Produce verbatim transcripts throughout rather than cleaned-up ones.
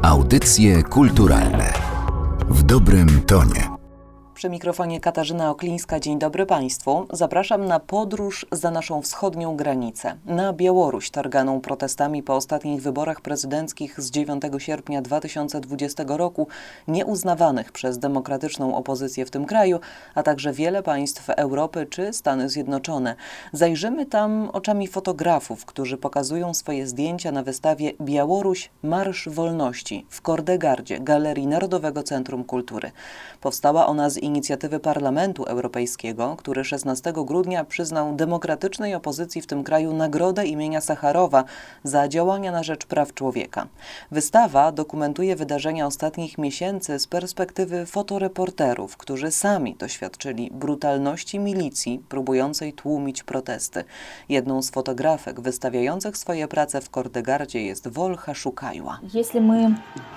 Audycje kulturalne w dobrym tonie. Przy mikrofonie Katarzyna Oklińska. Dzień dobry Państwu. Zapraszam na podróż za naszą wschodnią granicę, na Białoruś, targaną protestami po ostatnich wyborach prezydenckich z dziewiątego sierpnia dwa tysiące dwudziestego roku, nieuznawanych przez demokratyczną opozycję w tym kraju, a także wiele państw Europy czy Stany Zjednoczone. Zajrzymy tam oczami fotografów, którzy pokazują swoje zdjęcia na wystawie Białoruś – Marsz Wolności w Kordegardzie, Galerii Narodowego Centrum Kultury. Powstała ona z inicjatywy Parlamentu Europejskiego, który szesnastego grudnia przyznał demokratycznej opozycji w tym kraju nagrodę imienia Sacharowa za działania na rzecz praw człowieka. Wystawa dokumentuje wydarzenia ostatnich miesięcy z perspektywy fotoreporterów, którzy sami doświadczyli brutalności milicji próbującej tłumić protesty. Jedną z fotografek wystawiających swoje prace w Kordegardzie jest Wolcha Szukajła. Jeśli my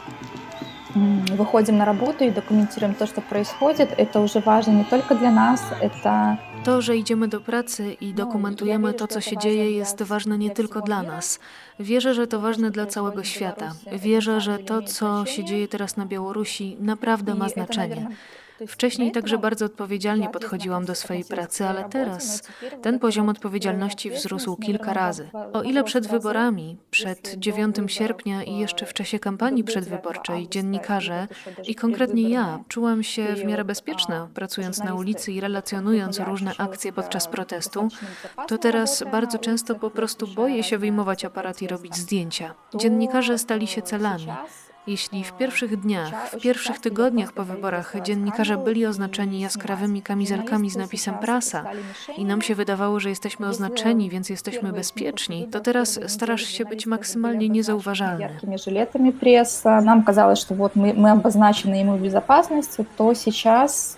выходим на работу и документируем то, что происходит, это уже важно не только для нас, это... To, że idziemy do pracy i dokumentujemy to, co się dzieje, jest ważne nie tylko dla nas. Wierzę, że to ważne dla całego świata. Wierzę, że to, co się dzieje teraz na Białorusi, naprawdę ma znaczenie. Wcześniej także bardzo odpowiedzialnie podchodziłam do swojej pracy, ale teraz ten poziom odpowiedzialności wzrósł kilka razy. O ile przed wyborami, przed dziewiątego sierpnia i jeszcze w czasie kampanii przedwyborczej dziennikarze i konkretnie ja czułam się w miarę bezpieczna, pracując na ulicy i relacjonując różne akcje podczas protestu, to teraz bardzo często po prostu boję się wyjmować aparat i robić zdjęcia. Dziennikarze stali się celami. Jeśli w pierwszych dniach, w pierwszych tygodniach po wyborach dziennikarze byli oznaczeni jaskrawymi kamizelkami z napisem prasa i nam się wydawało, że jesteśmy oznaczeni, więc jesteśmy bezpieczni, to teraz starasz się być maksymalnie niezauważalny. Żyletami presa, nam kazało, że вот my, my oznaczeni i my w bezpieczeństwie, to сейчас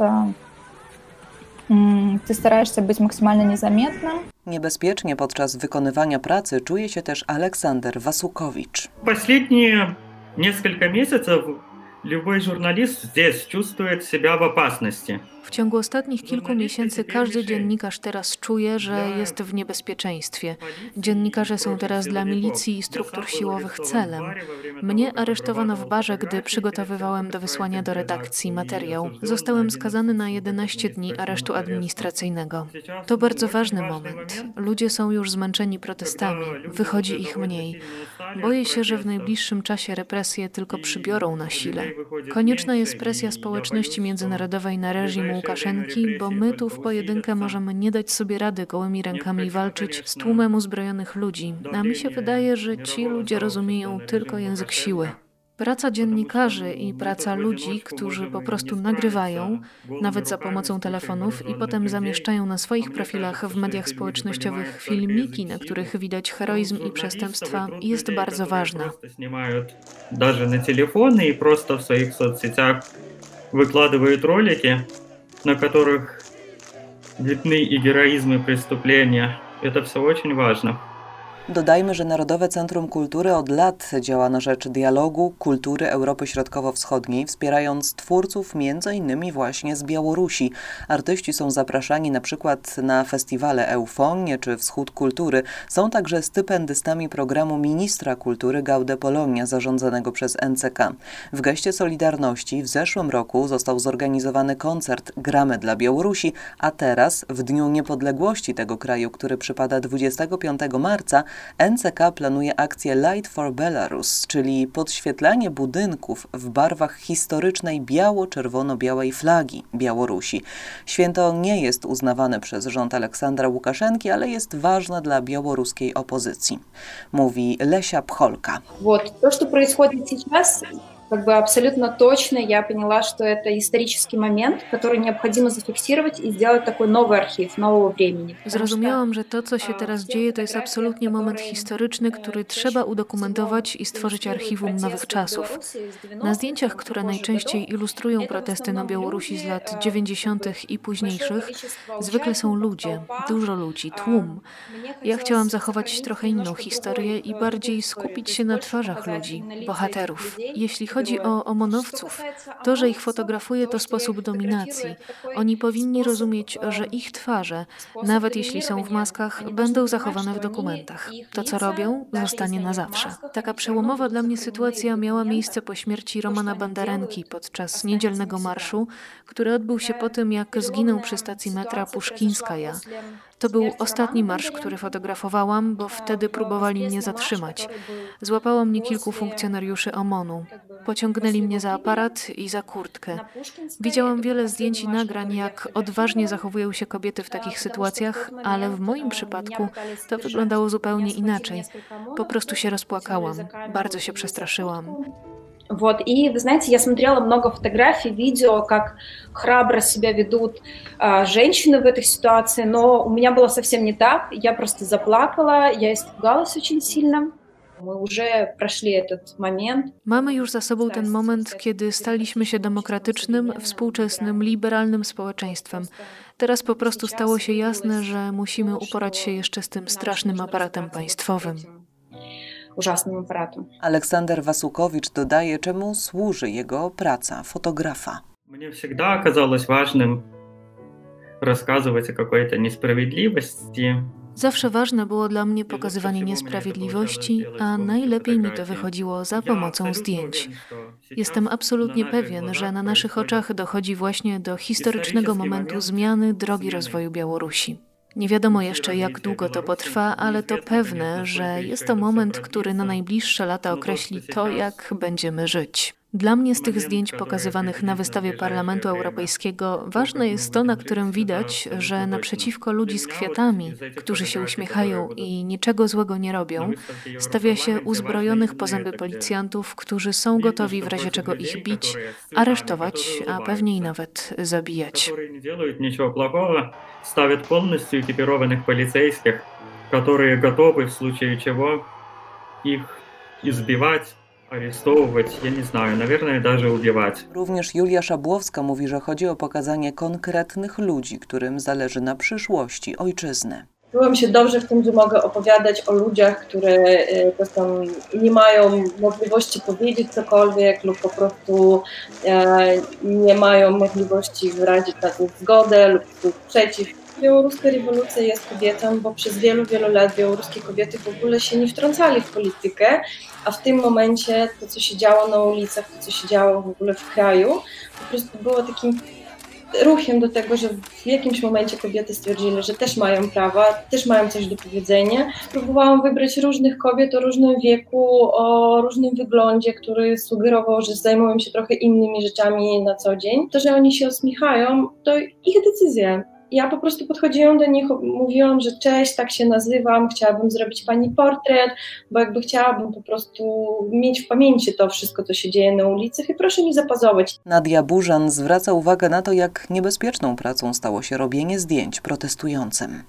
ty starasz się być maksymalnie niezamietnym. Niebezpiecznie podczas wykonywania pracy czuje się też Aleksander Wasukowicz. Последние несколько месяцев любой журналист здесь чувствует себя в опасности. W ciągu ostatnich kilku miesięcy każdy dziennikarz teraz czuje, że jest w niebezpieczeństwie. Dziennikarze są teraz dla milicji i struktur siłowych celem. Mnie aresztowano w barze, gdy przygotowywałem do wysłania do redakcji materiał. Zostałem skazany na jedenaście dni aresztu administracyjnego. To bardzo ważny moment. Ludzie są już zmęczeni protestami. Wychodzi ich mniej. Boję się, że w najbliższym czasie represje tylko przybiorą na sile. Konieczna jest presja społeczności międzynarodowej na reżim Łukaszenki, bo my tu w pojedynkę możemy nie dać sobie rady gołymi rękami walczyć z tłumem uzbrojonych ludzi, a mi się wydaje, że ci ludzie rozumieją tylko język siły. Praca dziennikarzy i praca ludzi, którzy po prostu nagrywają, nawet za pomocą telefonów i potem zamieszczają na swoich profilach w mediach społecznościowych filmiki, na których widać heroizm i przestępstwa, jest bardzo ważna. Даже на телефоны и просто в своих соцсетях выкладывают ролики, на которых видны и героизм, и преступления. Это все очень важно. Dodajmy, że Narodowe Centrum Kultury od lat działa na rzecz dialogu kultury Europy Środkowo-Wschodniej, wspierając twórców między innymi właśnie z Białorusi. Artyści są zapraszani na przykład na festiwale Eufonie czy Wschód Kultury. Są także stypendystami programu Ministra Kultury Gaude Polonia zarządzanego przez N C K. W geście solidarności w zeszłym roku został zorganizowany koncert Gramy dla Białorusi, a teraz w Dniu Niepodległości tego kraju, który przypada dwudziestego piątego marca, N C K planuje akcję Light for Belarus, czyli podświetlanie budynków w barwach historycznej biało-czerwono-białej flagi Białorusi. Święto nie jest uznawane przez rząd Aleksandra Łukaszenki, ale jest ważne dla białoruskiej opozycji, mówi Lesia Pcholka. Вот, то, что происходит сейчас, как бы абсолютно точно я поняла, что это исторический момент, который необходимо зафиксировать и сделать такой новый архив нового времени. Zrozumiałam, że to, co się teraz dzieje, to jest absolutnie moment historyczny, który trzeba udokumentować i stworzyć archiwum nowych czasów. Na zdjęciach, które najczęściej ilustrują protesty na Białorusi z lat dziewięćdziesiątych i późniejszych, zwykle są ludzie, dużo ludzi, tłum. Ja chciałam zachować trochę inną historię i bardziej skupić się na twarzach ludzi, bohaterów. Jeśli chodzi chodzi o omonowców, to, że ich fotografuję, to sposób dominacji. Oni powinni rozumieć, że ich twarze, nawet jeśli są w maskach, będą zachowane w dokumentach. To, co robią, zostanie na zawsze. Taka przełomowa dla mnie sytuacja miała miejsce po śmierci Romana Bandarenki podczas niedzielnego marszu, który odbył się po tym, jak zginął przy stacji metra Puszkińskaja. To był ostatni marsz, który fotografowałam, bo wtedy próbowali mnie zatrzymać. Złapało mnie kilku funkcjonariuszy OMON-u. Pociągnęli mnie za aparat i za kurtkę. Widziałam wiele zdjęć i nagrań, jak odważnie zachowują się kobiety w takich sytuacjach, ale w moim przypadku to wyglądało zupełnie inaczej. Po prostu się rozpłakałam. Bardzo się przestraszyłam. Вот, и, вы знаете, я смотрела много фотографий, видео, как храбро себя ведут а, женщины в этой ситуации, но у меня было совсем не так. Я просто заплакала, я испугалась очень сильно. Мы уже прошли этот момент. Mamy już za sobą ten moment, kiedy staliśmy się demokratycznym, współczesnym, liberalnym społeczeństwem. Teraz po prostu stało się jasne, że musimy uporać się jeszcze z tym strasznym aparatem państwowym. Ужасным аппаратом. Aleksander Wasukowicz dodaje, czemu służy jego praca fotografa. Мне всегда оказалось важным рассказывать о какой-то несправедливости. Zawsze ważne było dla mnie pokazywanie niesprawiedliwości, a najlepiej mi to wychodziło za pomocą zdjęć. Jestem absolutnie pewien, że na naszych oczach dochodzi właśnie do historycznego momentu zmiany drogi rozwoju Białorusi. Nie wiadomo jeszcze, jak długo to potrwa, ale to pewne, że jest to moment, który na najbliższe lata określi to, jak będziemy żyć. Dla mnie z tych zdjęć pokazywanych na wystawie Parlamentu Europejskiego ważne jest to, na którym widać, że naprzeciwko ludzi z kwiatami, którzy się uśmiechają i niczego złego nie robią, stawia się uzbrojonych po zęby policjantów, którzy są gotowi w razie czego ich bić, aresztować, a pewnie i nawet zabijać. Ставят полностью экипированных полицейских, которые готовы в случае чего их избивать, aresztować, ja nie знаю, наверное, даже убивать. Również Julia Szabłowska mówi, że chodzi o pokazanie konkretnych ludzi, którym zależy na przyszłości ojczyzny. Czułam się dobrze w tym, że mogę opowiadać o ludziach, które czasem nie mają możliwości powiedzieć cokolwiek lub po prostu nie mają możliwości wyrazić na to zgodę lub przeciw. Białoruska rewolucja jest kobietą, bo przez wielu, wielu lat białoruskie kobiety w ogóle się nie wtrącali w politykę, a w tym momencie to, co się działo na ulicach, to, co się działo w ogóle w kraju, po prostu było takim ruchem do tego, że w jakimś momencie kobiety stwierdzili, że też mają prawa, też mają coś do powiedzenia. Próbowałam wybrać różnych kobiet o różnym wieku, o różnym wyglądzie, który sugerował, że zajmują się trochę innymi rzeczami na co dzień. To, że oni się uśmiechają, to ich decyzja. Ja po prostu podchodziłam do nich, mówiłam, że cześć, tak się nazywam, chciałabym zrobić pani portret, bo jakby chciałabym po prostu mieć w pamięci to wszystko, co się dzieje na ulicach i proszę mi zapazować. Nadia Burzan zwraca uwagę na to, jak niebezpieczną pracą stało się robienie zdjęć protestującym.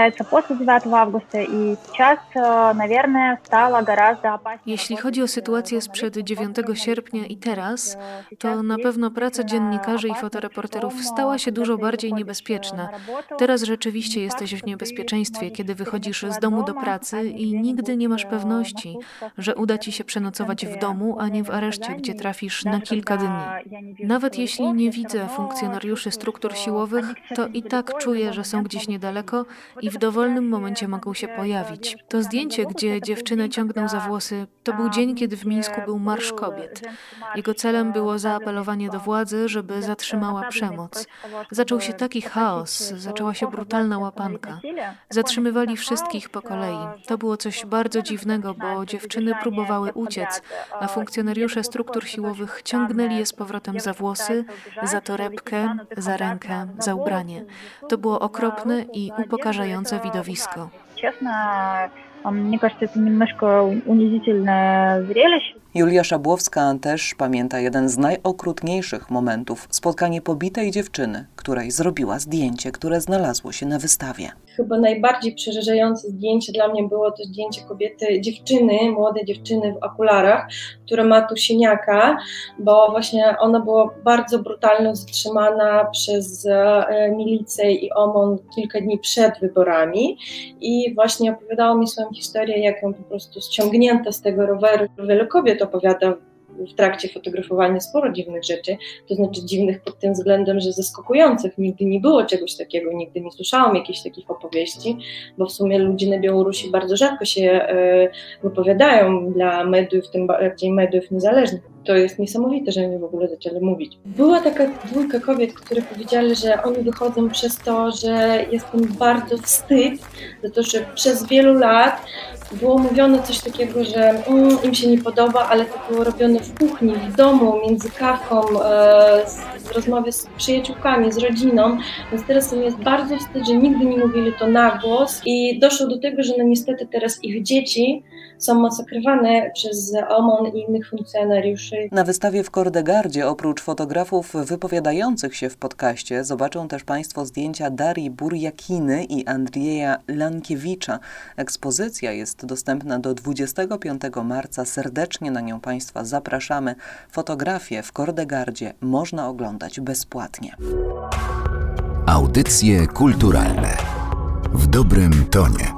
Jeśli chodzi o sytuację sprzed dziewiątego sierpnia i teraz, to na pewno praca dziennikarzy i fotoreporterów stała się dużo bardziej niebezpieczna. Teraz rzeczywiście jesteś w niebezpieczeństwie, kiedy wychodzisz z domu do pracy i nigdy nie masz pewności, że uda ci się przenocować w domu, a nie w areszcie, gdzie trafisz na kilka dni. Nawet jeśli nie widzę funkcjonariuszy struktur siłowych, to i tak czuję, że są gdzieś niedaleko i w dowolnym momencie mogą się pojawić. To zdjęcie, gdzie dziewczynę ciągną za włosy, to był dzień, kiedy w Mińsku był Marsz Kobiet. Jego celem było zaapelowanie do władzy, żeby zatrzymała przemoc. Zaczął się taki chaos, zaczęła się brutalna łapanka. Zatrzymywali wszystkich po kolei. To było coś bardzo dziwnego, bo dziewczyny próbowały uciec, a funkcjonariusze struktur siłowych ciągnęli je z powrotem za włosy, za torebkę, za rękę, za ubranie. To było okropne i upokarzające widowisko. Мне кажется, это немножко унизительное зрелище. Julia Szabłowska też pamięta jeden z najokrutniejszych momentów. Spotkanie pobitej dziewczyny, której zrobiła zdjęcie, które znalazło się na wystawie. Chyba najbardziej przerażające zdjęcie dla mnie było to zdjęcie kobiety, dziewczyny, młodej dziewczyny w okularach, która ma tu siniaka, bo właśnie ona była bardzo brutalnie zatrzymana przez e, milicję i OMON kilka dni przed wyborami i właśnie opowiadała mi swoją historię, jak ją po prostu ściągnięto z tego roweru. Wiele kobiet opowiada w trakcie fotografowania sporo dziwnych rzeczy, to znaczy dziwnych pod tym względem, że zaskakujących. Nigdy nie było czegoś takiego, nigdy nie słyszałam jakichś takich opowieści, bo w sumie ludzie na Białorusi bardzo rzadko się wypowiadają dla mediów, tym bardziej mediów niezależnych. To jest niesamowite, że oni w ogóle zaczęli mówić. Była taka dwójka kobiet, które powiedziały, że oni wychodzą przez to, że jest im bardzo wstyd za to, że przez wielu lat było mówione coś takiego, że mm, im się nie podoba, ale to było robione w kuchni, w domu, między kawką, e, z, z rozmowy z przyjaciółkami, z rodziną, więc teraz im jest bardzo wstyd, że nigdy nie mówili to na głos i doszło do tego, że no niestety teraz ich dzieci są masakrowane przez O M O N i innych funkcjonariuszy. Na wystawie w Kordegardzie oprócz fotografów wypowiadających się w podcaście zobaczą też Państwo zdjęcia Darii Burjakiny i Andrieja Lankiewicza. Ekspozycja jest dostępna do dwudziestego piątego marca. Serdecznie na nią Państwa zapraszamy. Fotografie w Kordegardzie można oglądać bezpłatnie. Audycje kulturalne w dobrym tonie.